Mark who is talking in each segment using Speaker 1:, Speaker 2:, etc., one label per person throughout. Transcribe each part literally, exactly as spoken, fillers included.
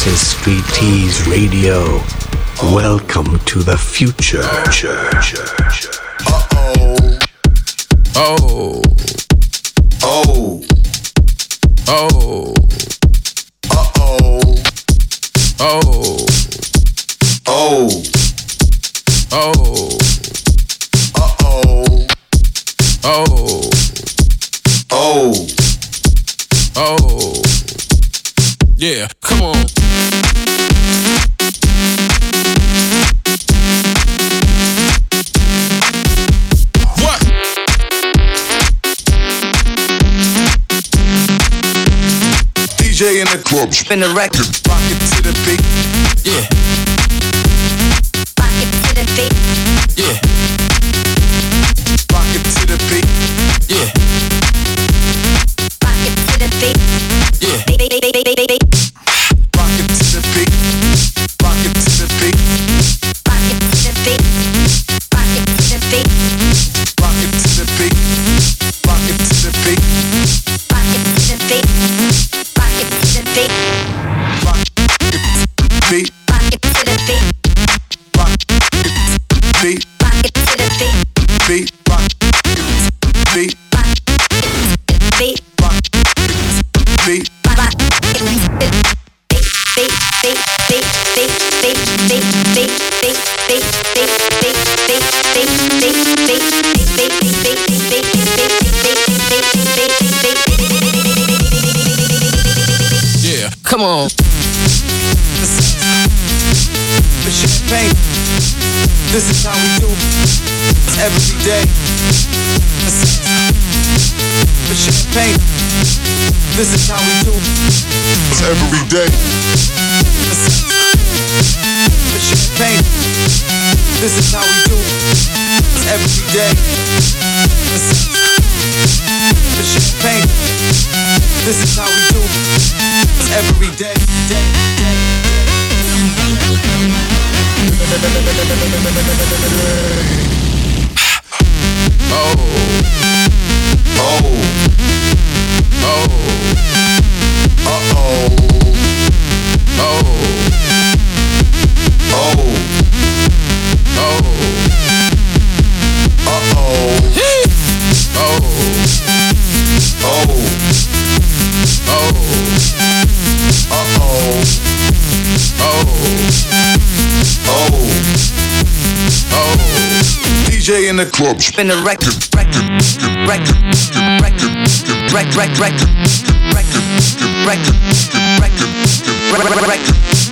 Speaker 1: This is Street Tease Radio. Welcome to the future.
Speaker 2: Uh-oh. Oh. Oh. Oh. Uh-oh. Oh. Oh. Oh. Uh-oh. Oh. Oh. Oh. Yeah, come on. What? D J in the club, spin the record, rock it to the beat. Yeah. Rock it to the beat. Yeah. Rock it to the beat. Yeah. Rock it to the beat. Yeah. Rock it to the beat. Rock it to the beat. Rock it to the beat. Rock it to the beat. Rock it to the beat. Rock it to the beat. Rock it to the beat. Rock it to the beat. Rock it to the beat. Rock it to the beat. Rock it to the beat. Rock it to the beat. Beat. Rock it to the beat. Rock it to the beat. Rock it to the beat. Yeah, come on. The champagne. This is how we do every day. The champagne. This is how we do every day. The champagne. This is how we do every day. The champagne. This is how we do every day. Oh. Oh. Oh. Uh-oh. Oh. Oh. Oh. Uh-oh. Oh. Oh. Oh. Uh-oh. Oh. Oh. D J in the club, spin the record, record, record, record, record, record, record, record, record, record, record, record,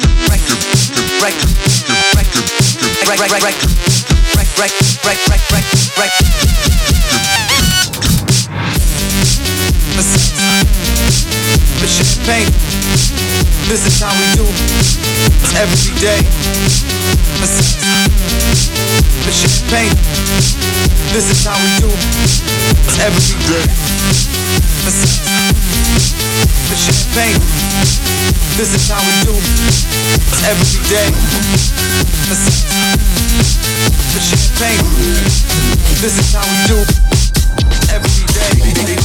Speaker 2: the champagne. This is how we do every day. The champagne. This is how we do every day. The champagne. This is how we do every day. The champagne. This is how we do every day.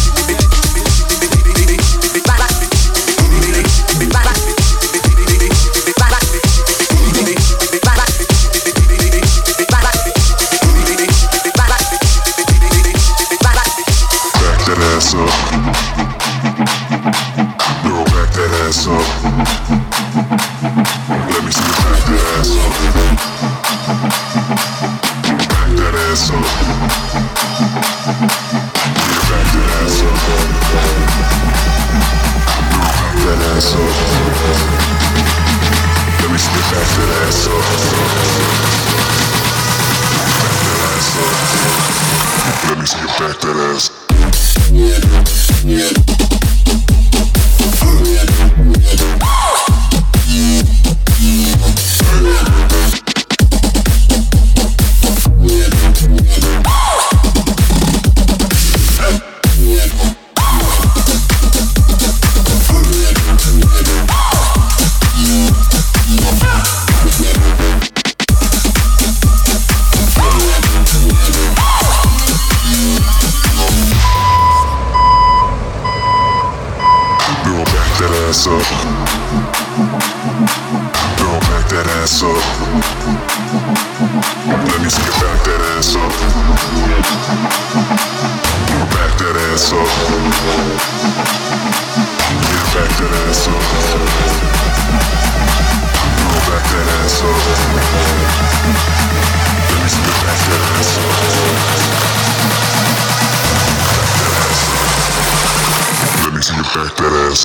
Speaker 3: ass up. Girl, back that ass up. Let me see you back that ass up. Back that ass up. Yeah, back that ass up. Girl, back that ass up. Let me see you back that ass up. Let me see you back that ass.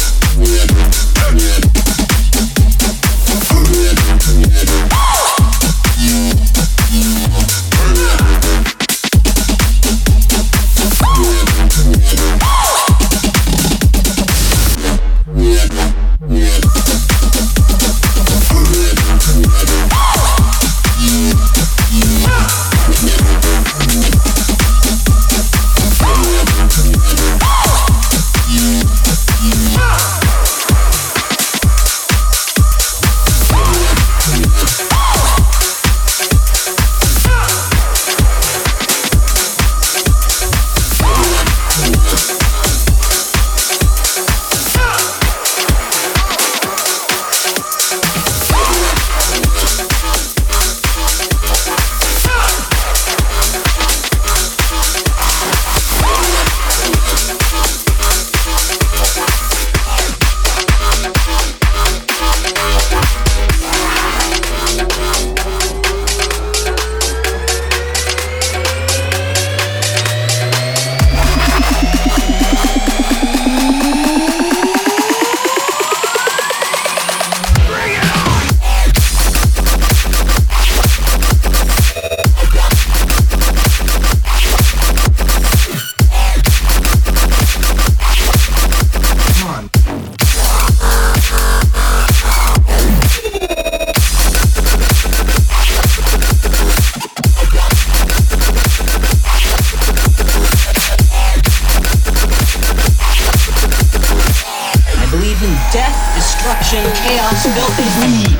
Speaker 4: Chaos, filth, and greed.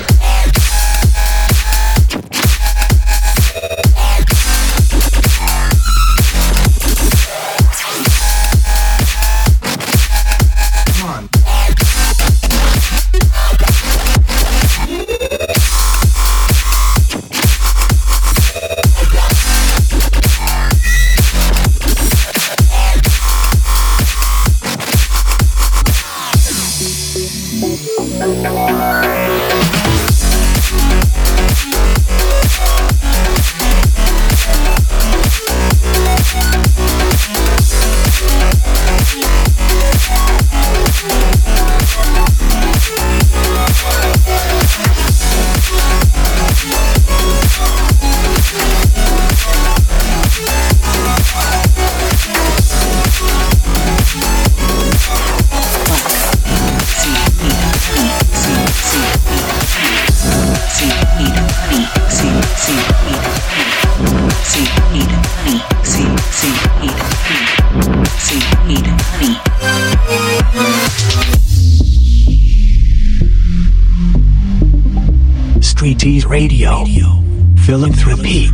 Speaker 1: Streeties Radio, Philanthropy.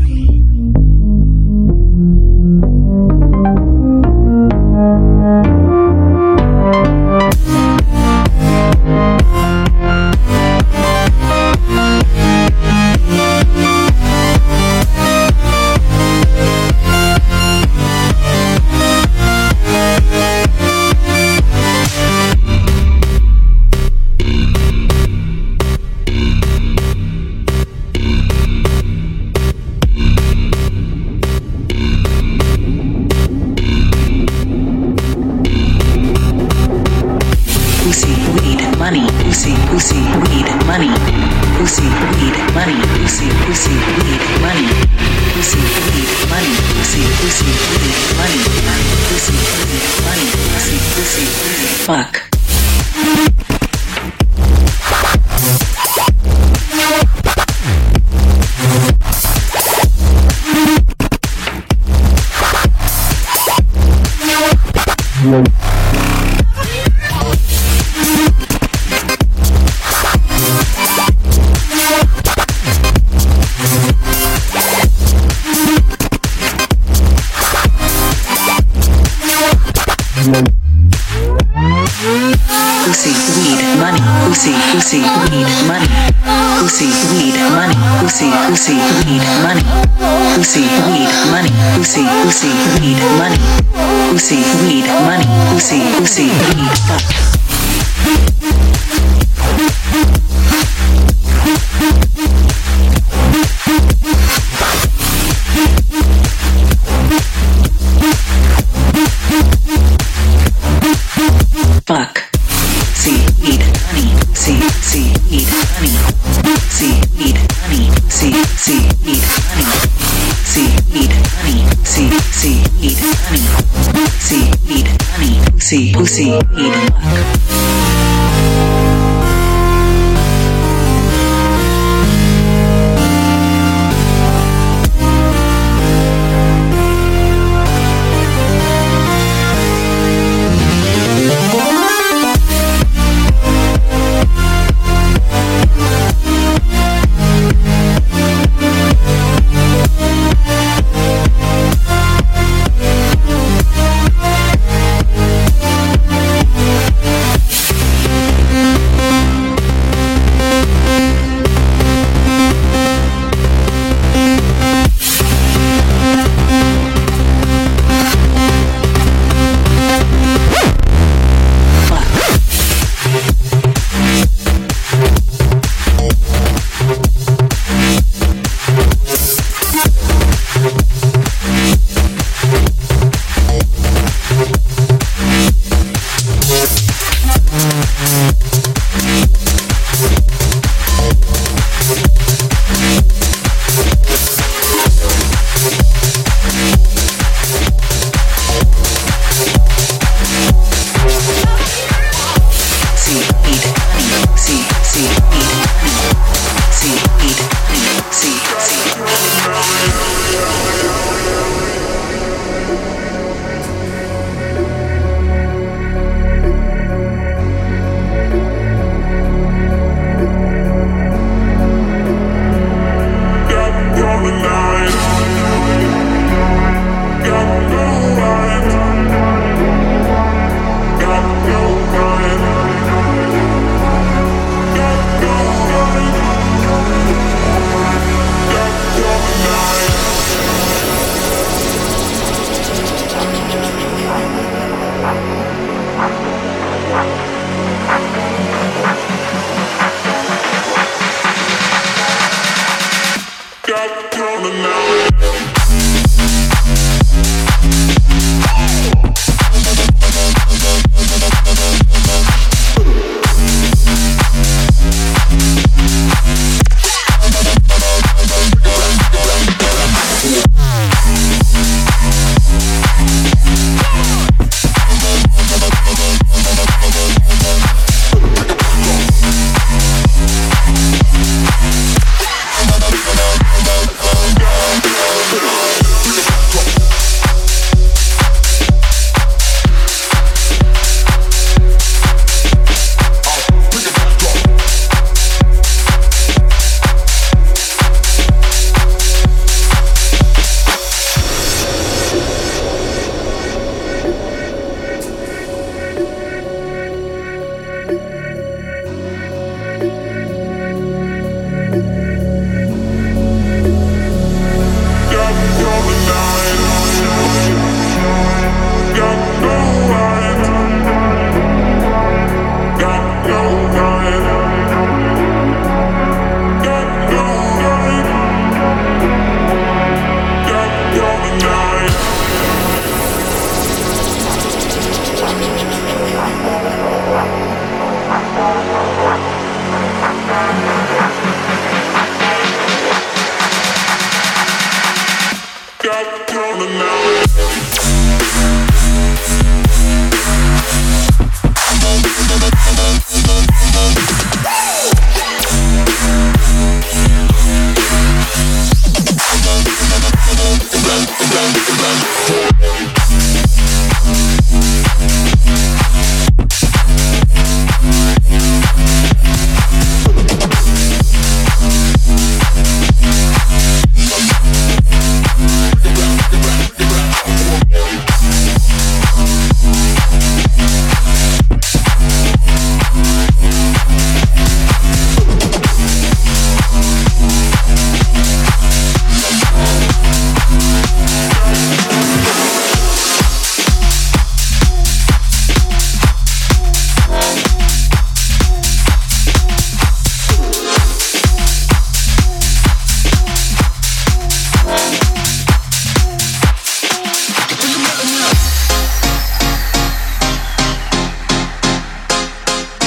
Speaker 4: Fuck.
Speaker 3: Thank you.
Speaker 5: pussy, weed, money, pussy, pussy, weed, money, pussy, weed, money, pussy, pussy, weed, money, pussy, weed, money, pussy, pussy, weed, money, pussy, weed, money, pussy, pussy, weed, fuck. Fuck. See, eat, honey. See, see, eat, honey. See, eat, honey. See, see, eat, honey. See, eat, honey. See, see, eat, honey. See, eat, honey. See, pussy, eat, fuck.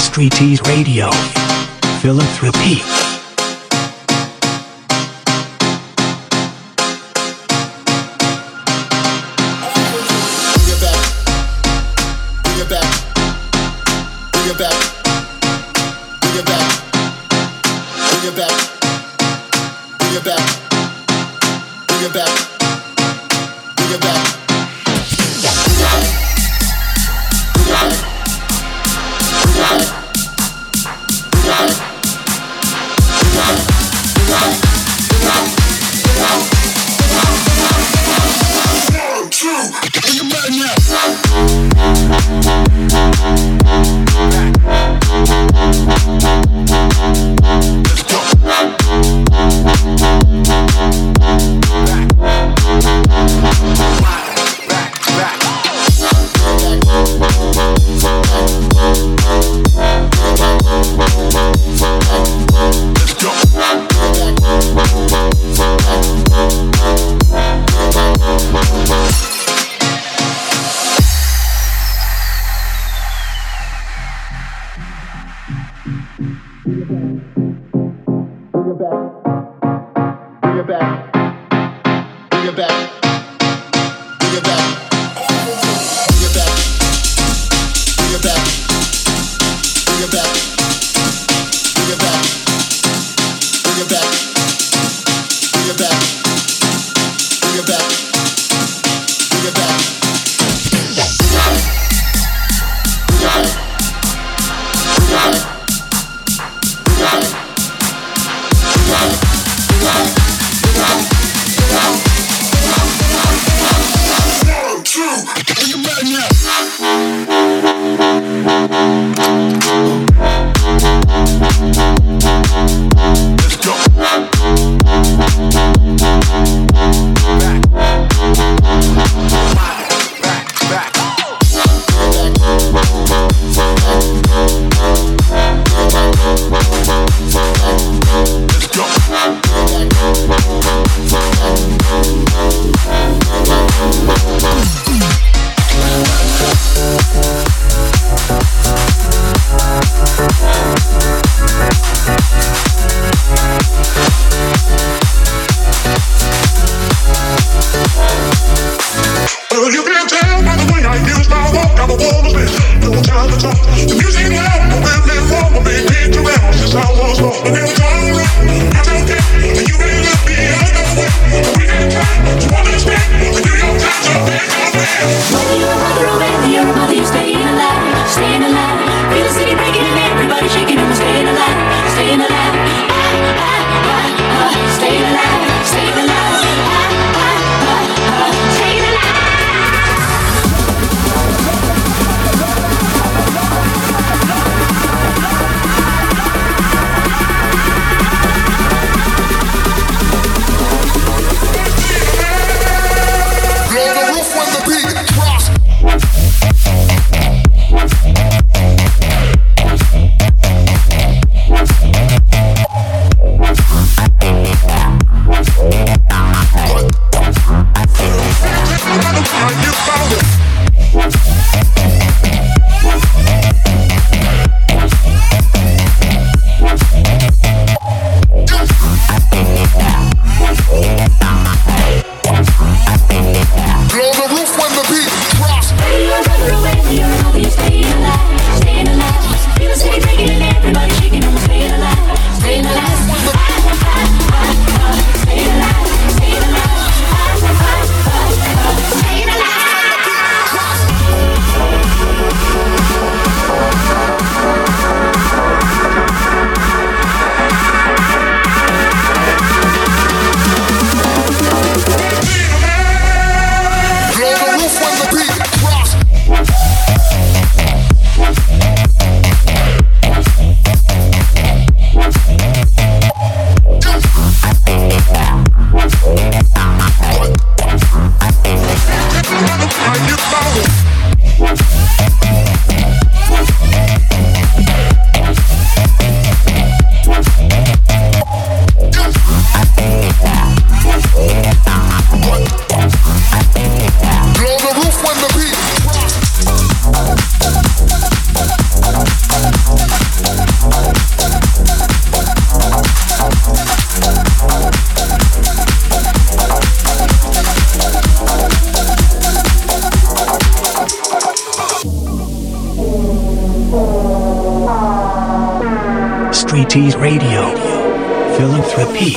Speaker 1: Streeties Radio. Philanthropy. Streeties Radio. Philanthropy.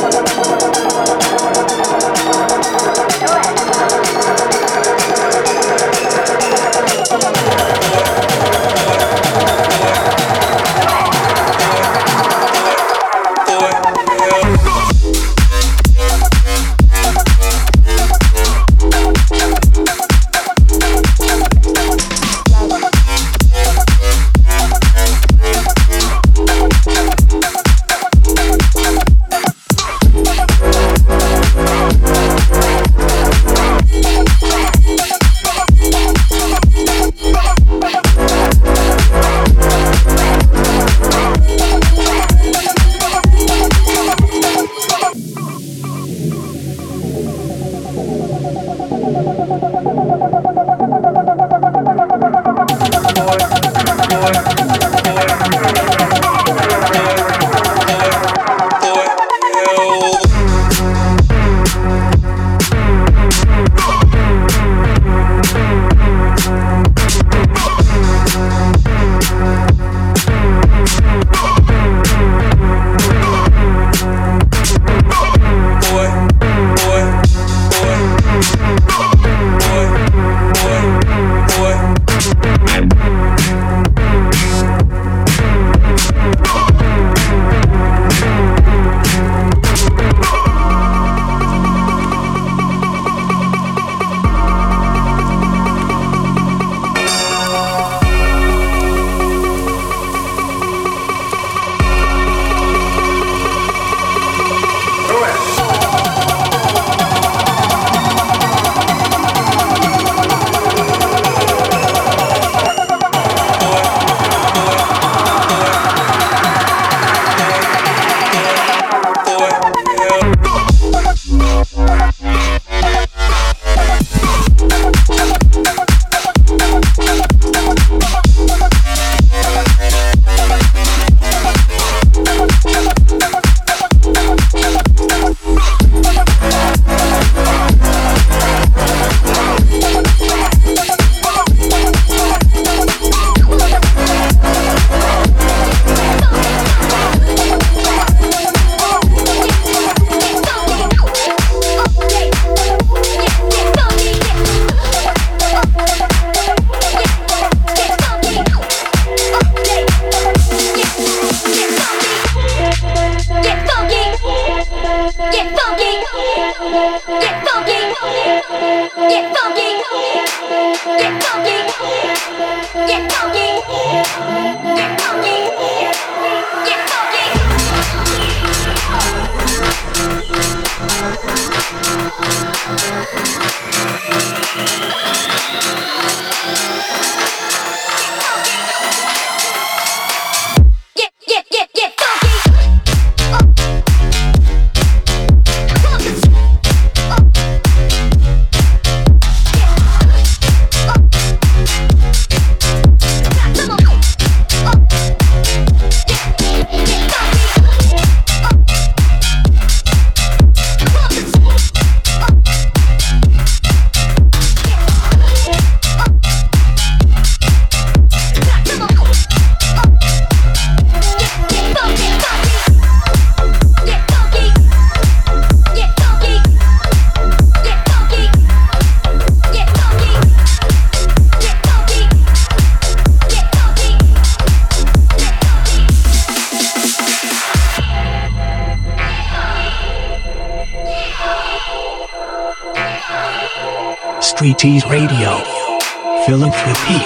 Speaker 1: Streeties Radio. Philanthropy.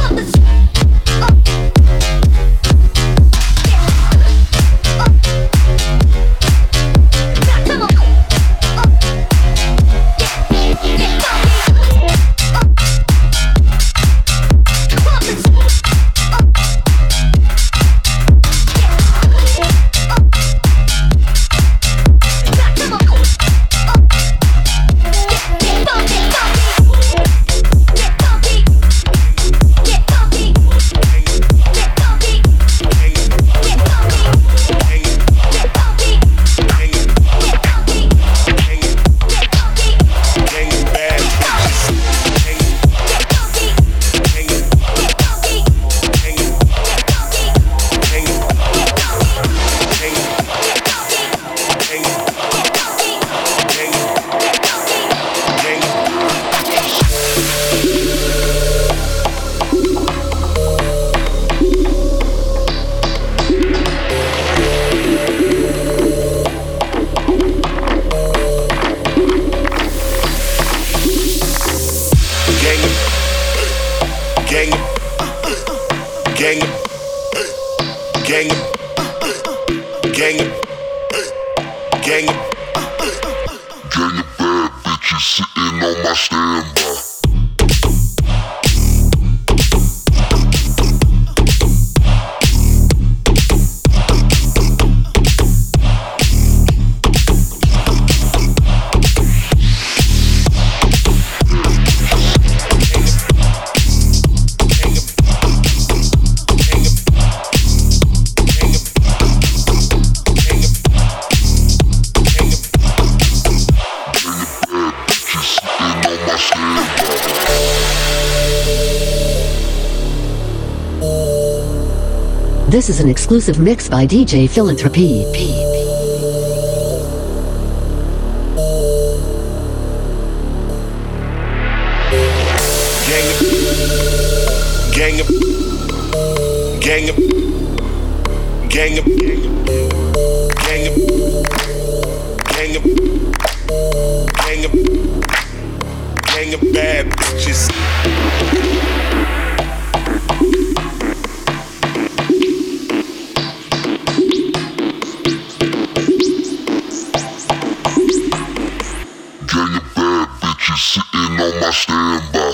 Speaker 6: Yeah. This is an exclusive mix by D J Philanthropy.
Speaker 3: Gang up, gang up, gang up, gang up, gang up, gang up, gang of bad bitches. Gang of bad bitches sitting on my standby.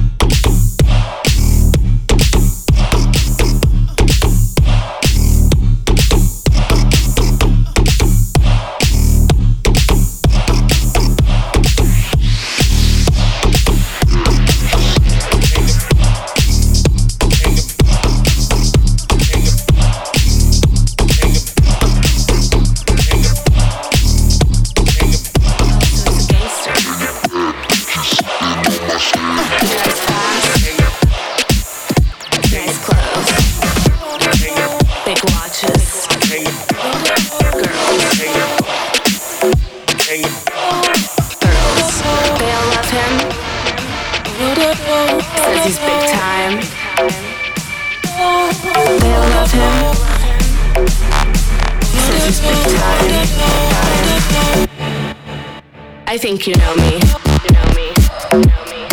Speaker 7: I think you know me. You know me. You know me.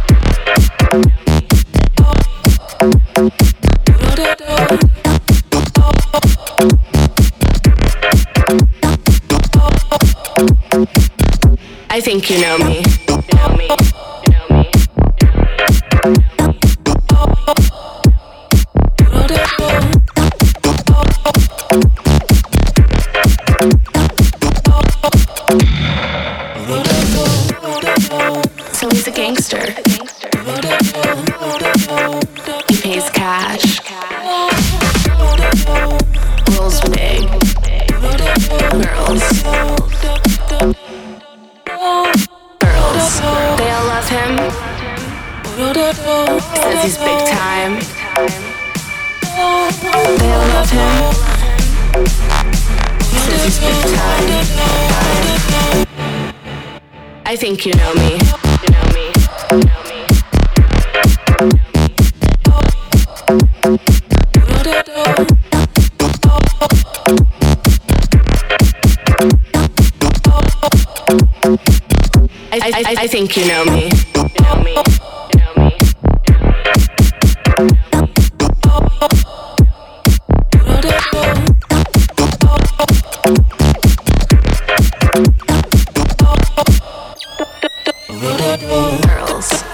Speaker 7: I think you know me. You know me. You know me. So he's a gangster. He pays cash. Rolls big. Girls. Girls. They all love him. Says he's big time. They all love him. Says he's big time. I think you know me. You know me. You know me. I, I, I think you know me. You know me. You know me. Girls.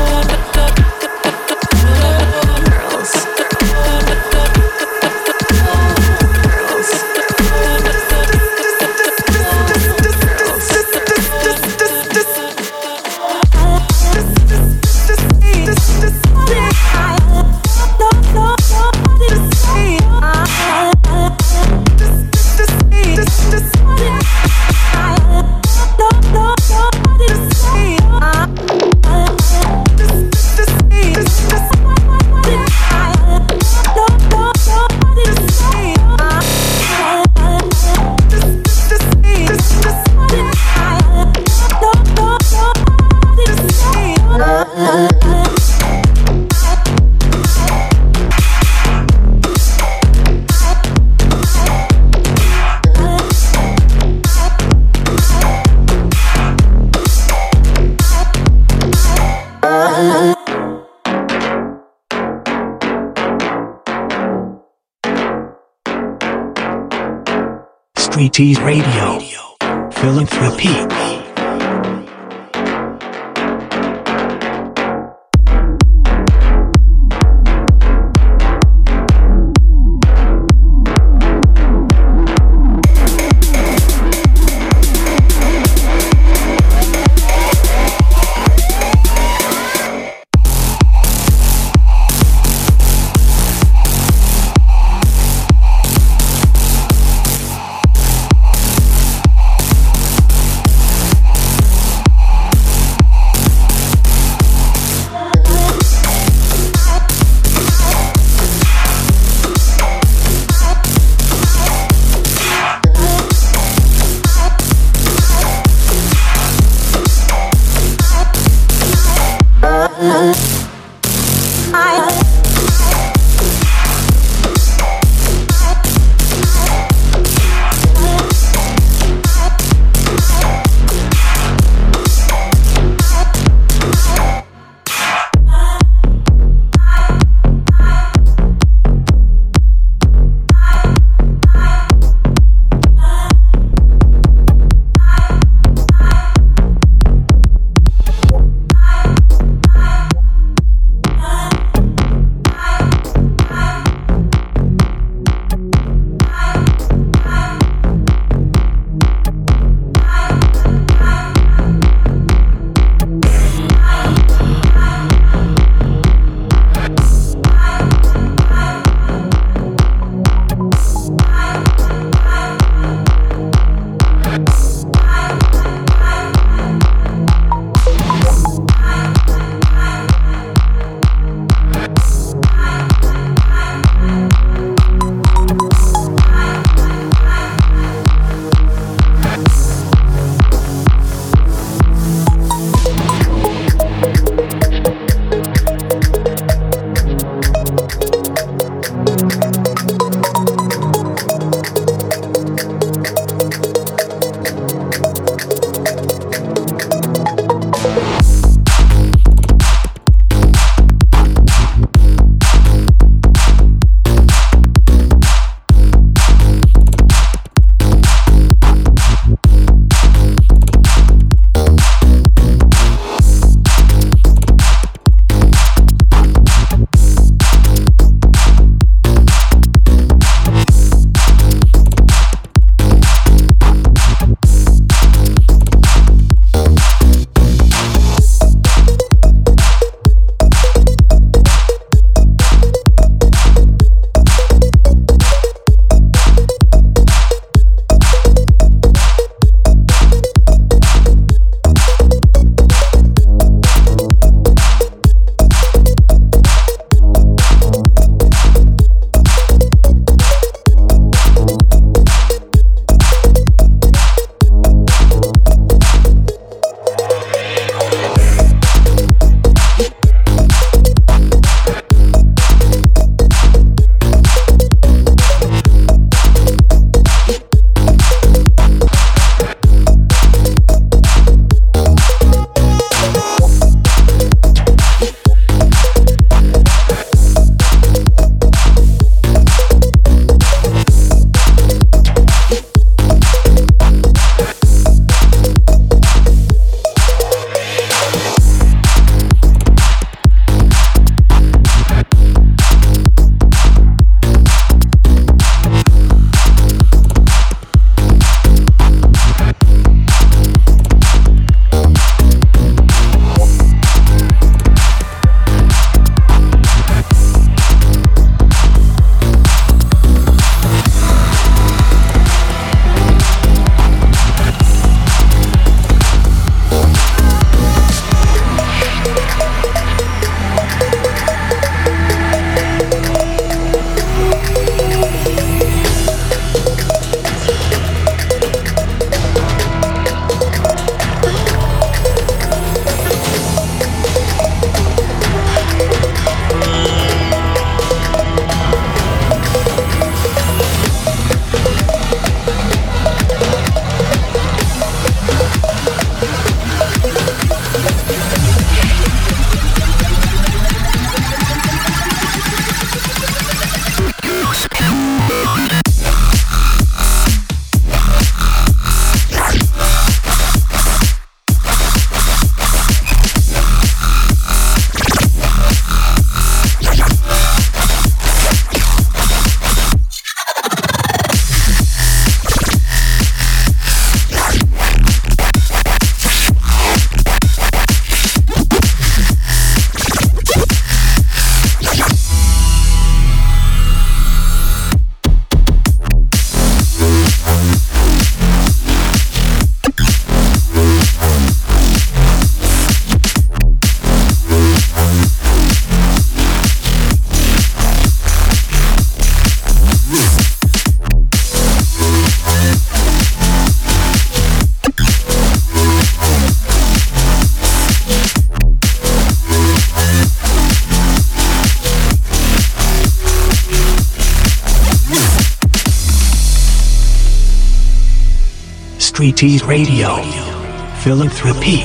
Speaker 1: Street Tease Radio. Philanthropy. Streeties Radio. Philanthropy.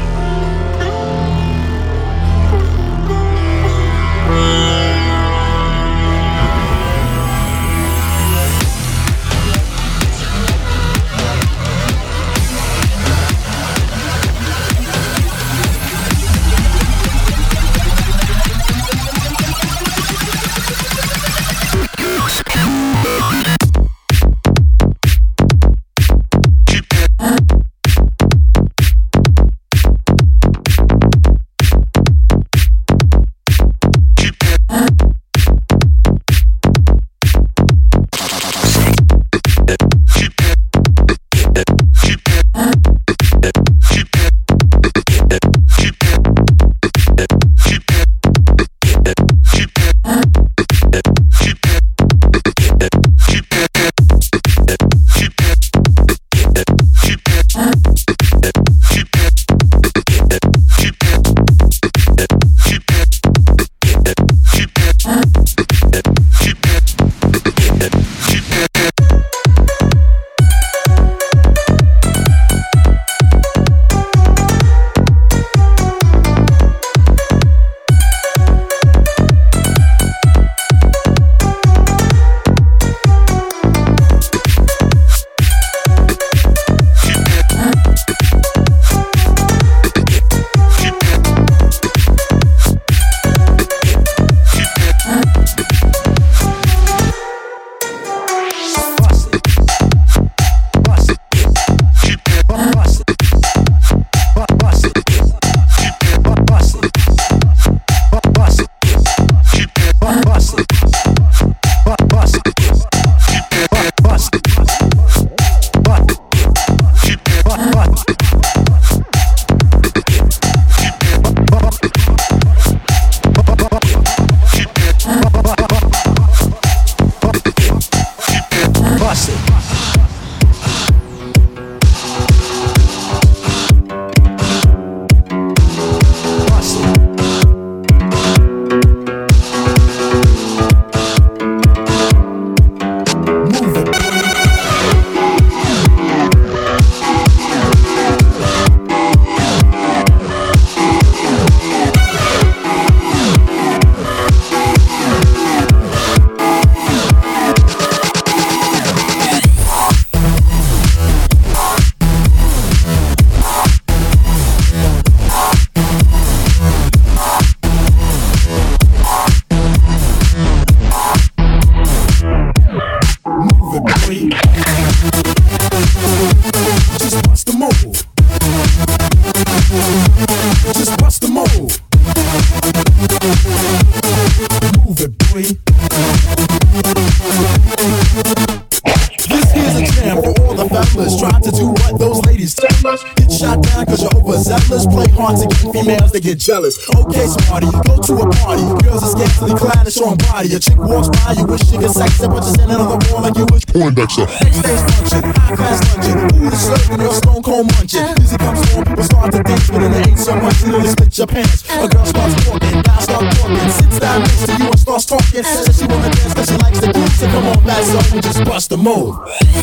Speaker 8: They get jealous. Okay, smarty, you go to a party. Girls are scantily clad and strong body. A chick walks by, you wish she could sex her, but you're standing on the wall like you wish Poindexter. Backstage function, high class luncheon. Food is serving, you're stone cold munching. Music comes on, people start to dance, but then they ain't so much, you nearly split your pants. A girl starts walking, guy start talking, sits down next to you and starts talking. Says she wanna dance, cause she likes the groove. So come on, fast up and just bust the move.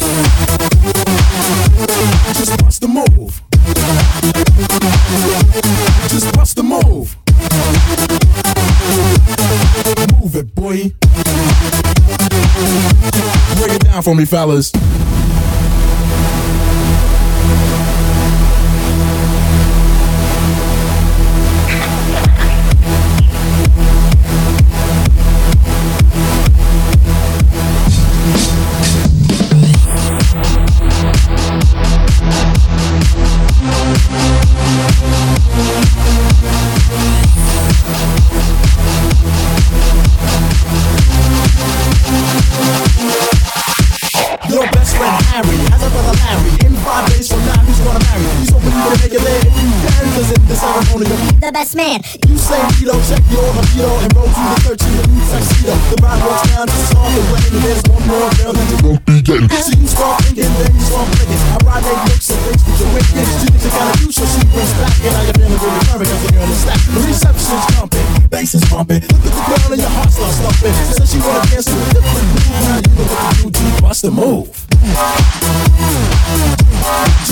Speaker 8: Just bust the move. Just bust the move. Move it, boy. Break it down for me, fellas.
Speaker 9: The best man.
Speaker 8: You say you don't check your libido and roll through the thirteen with new tuxedo. The ride walks down to start the rain. There's one more girl that you won't be getting. So you start thinking, then you start thinking. I ride eight looks and things that you're wicked. She thinks you gotta do so she brings back. And now you're feeling really curvy cause the girl is stacked. The reception's jumping, bass is pumping. Look at the girl and your heart starts thumping. She says she wanna dance to a different move. Now you know what to do to bust the move.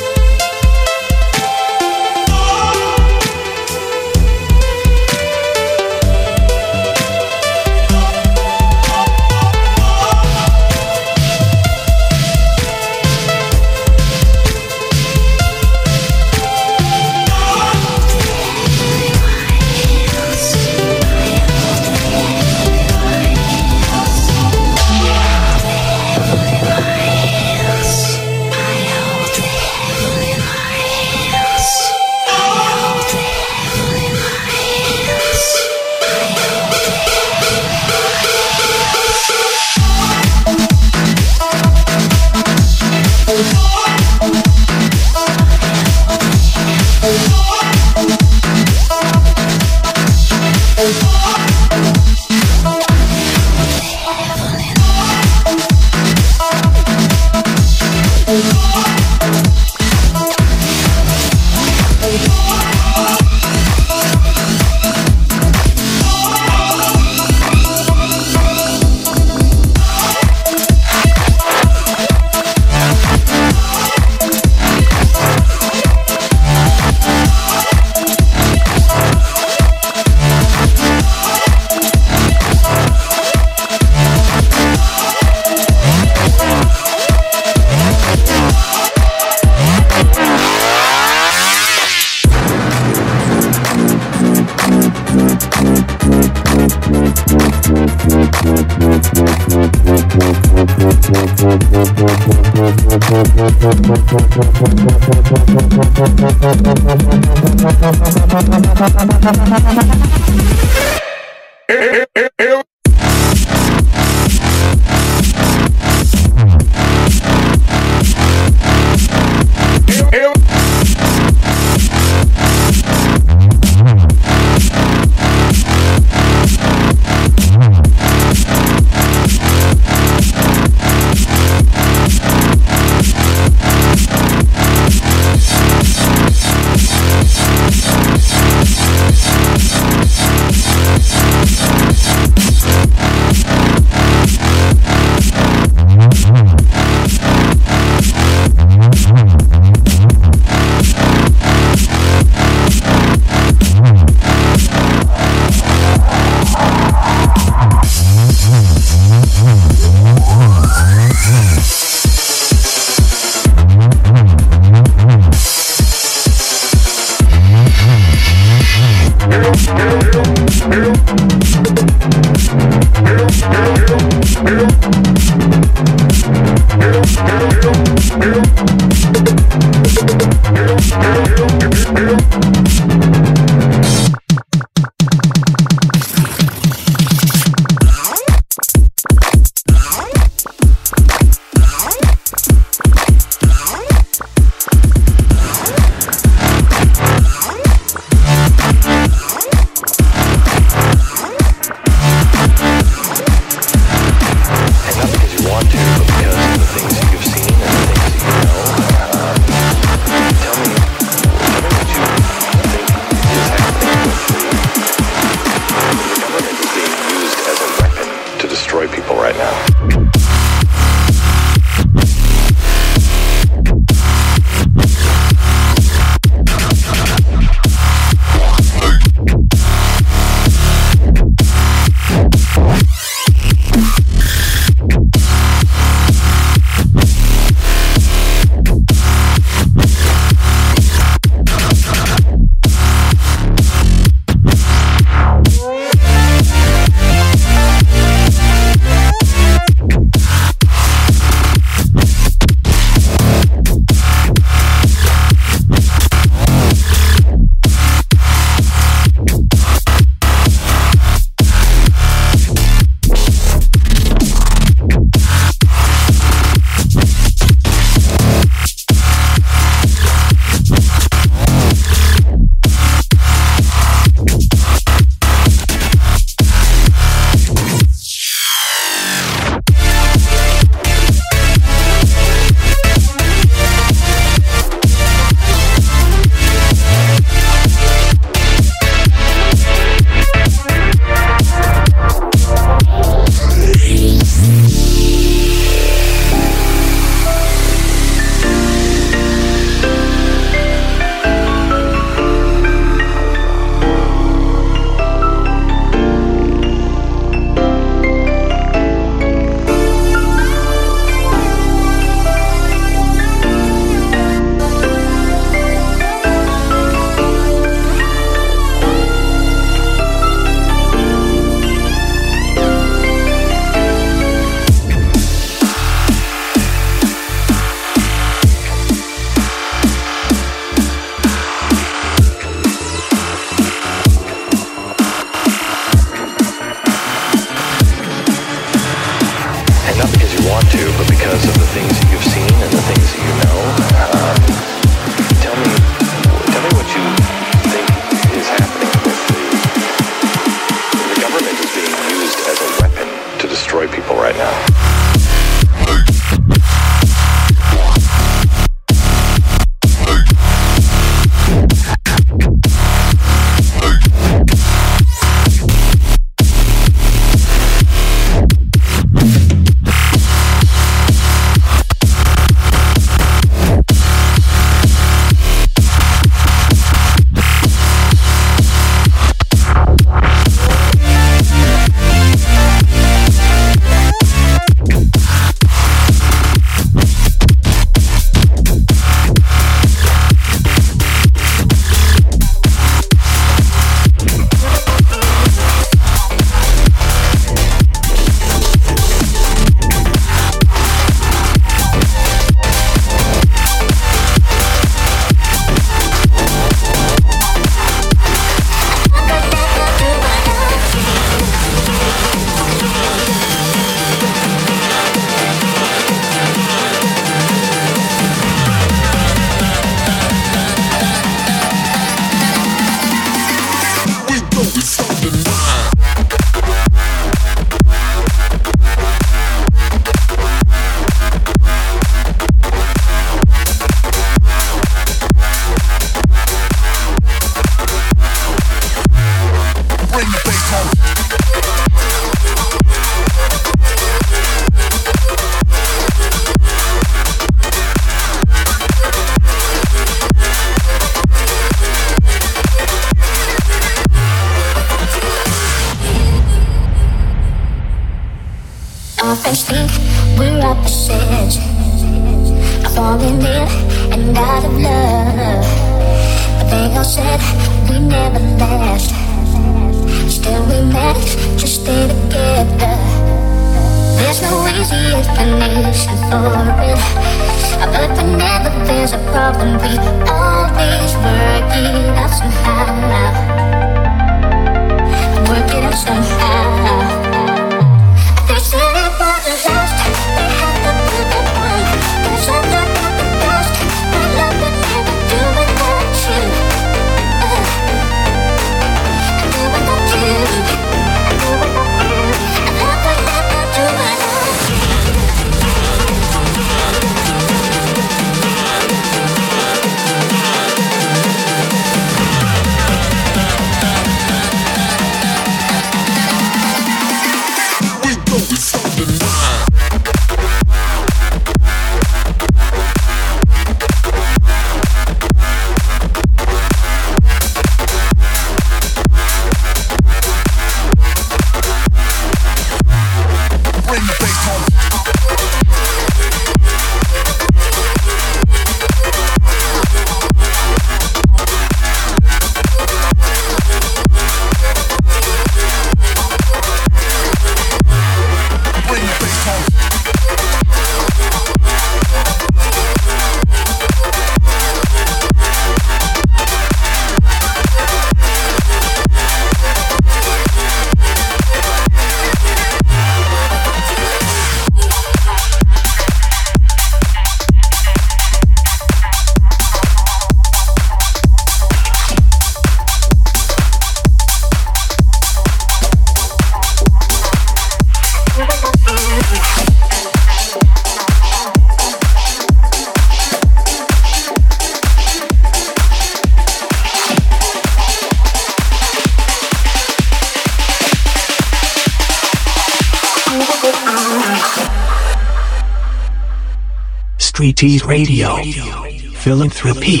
Speaker 1: Streeties Radio, Philanthropy.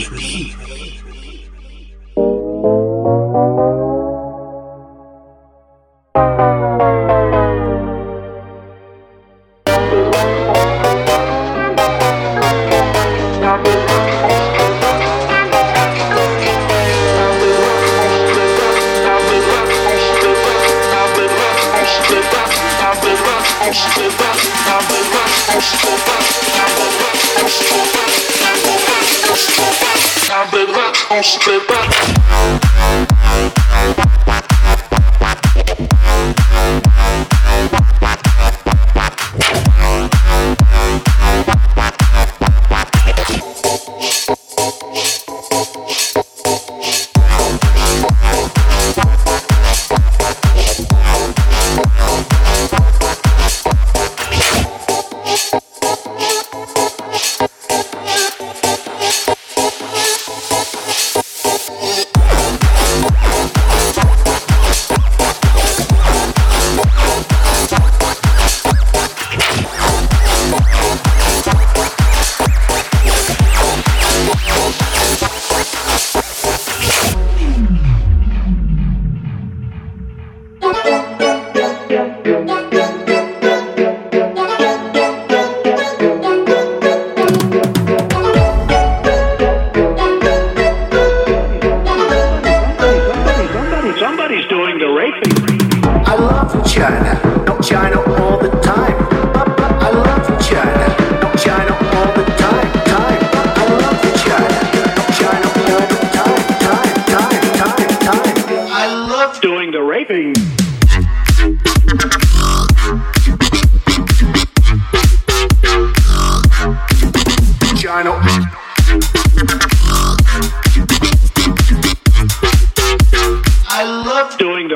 Speaker 2: Doing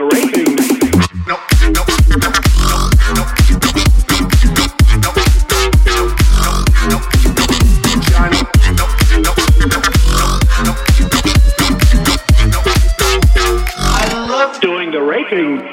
Speaker 9: raping.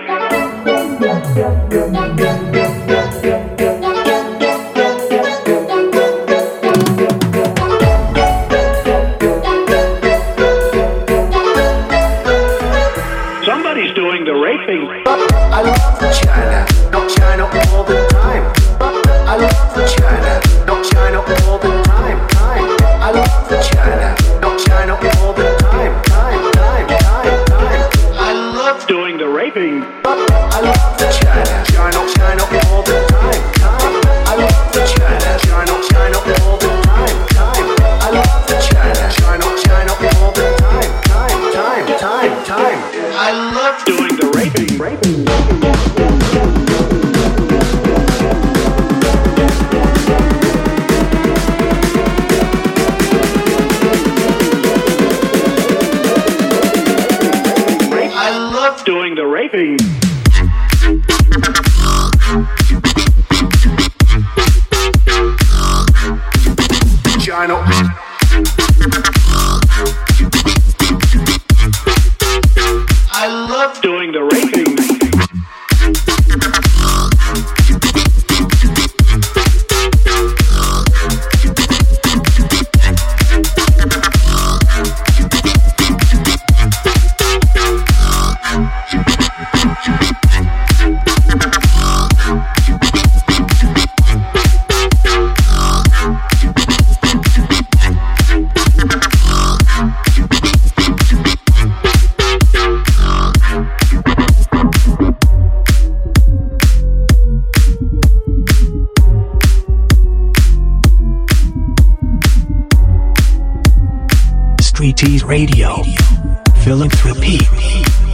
Speaker 9: Somebody's doing the raping.
Speaker 2: I love China, not China all the time. I love China, not China all the time. Time. I love China, not China all the time. Time, time, time, time. I love
Speaker 9: doing the raping.
Speaker 2: I love China, China, China all the time. Time. I love China, China, China all the time. Time. I love China, China, China all the time. Time, time, time, time. I love
Speaker 9: doing the raping. Raping.
Speaker 2: I love
Speaker 9: doing the raping.
Speaker 2: China. I love
Speaker 9: doing the raping.
Speaker 1: Streeties Radio. Philanthropy.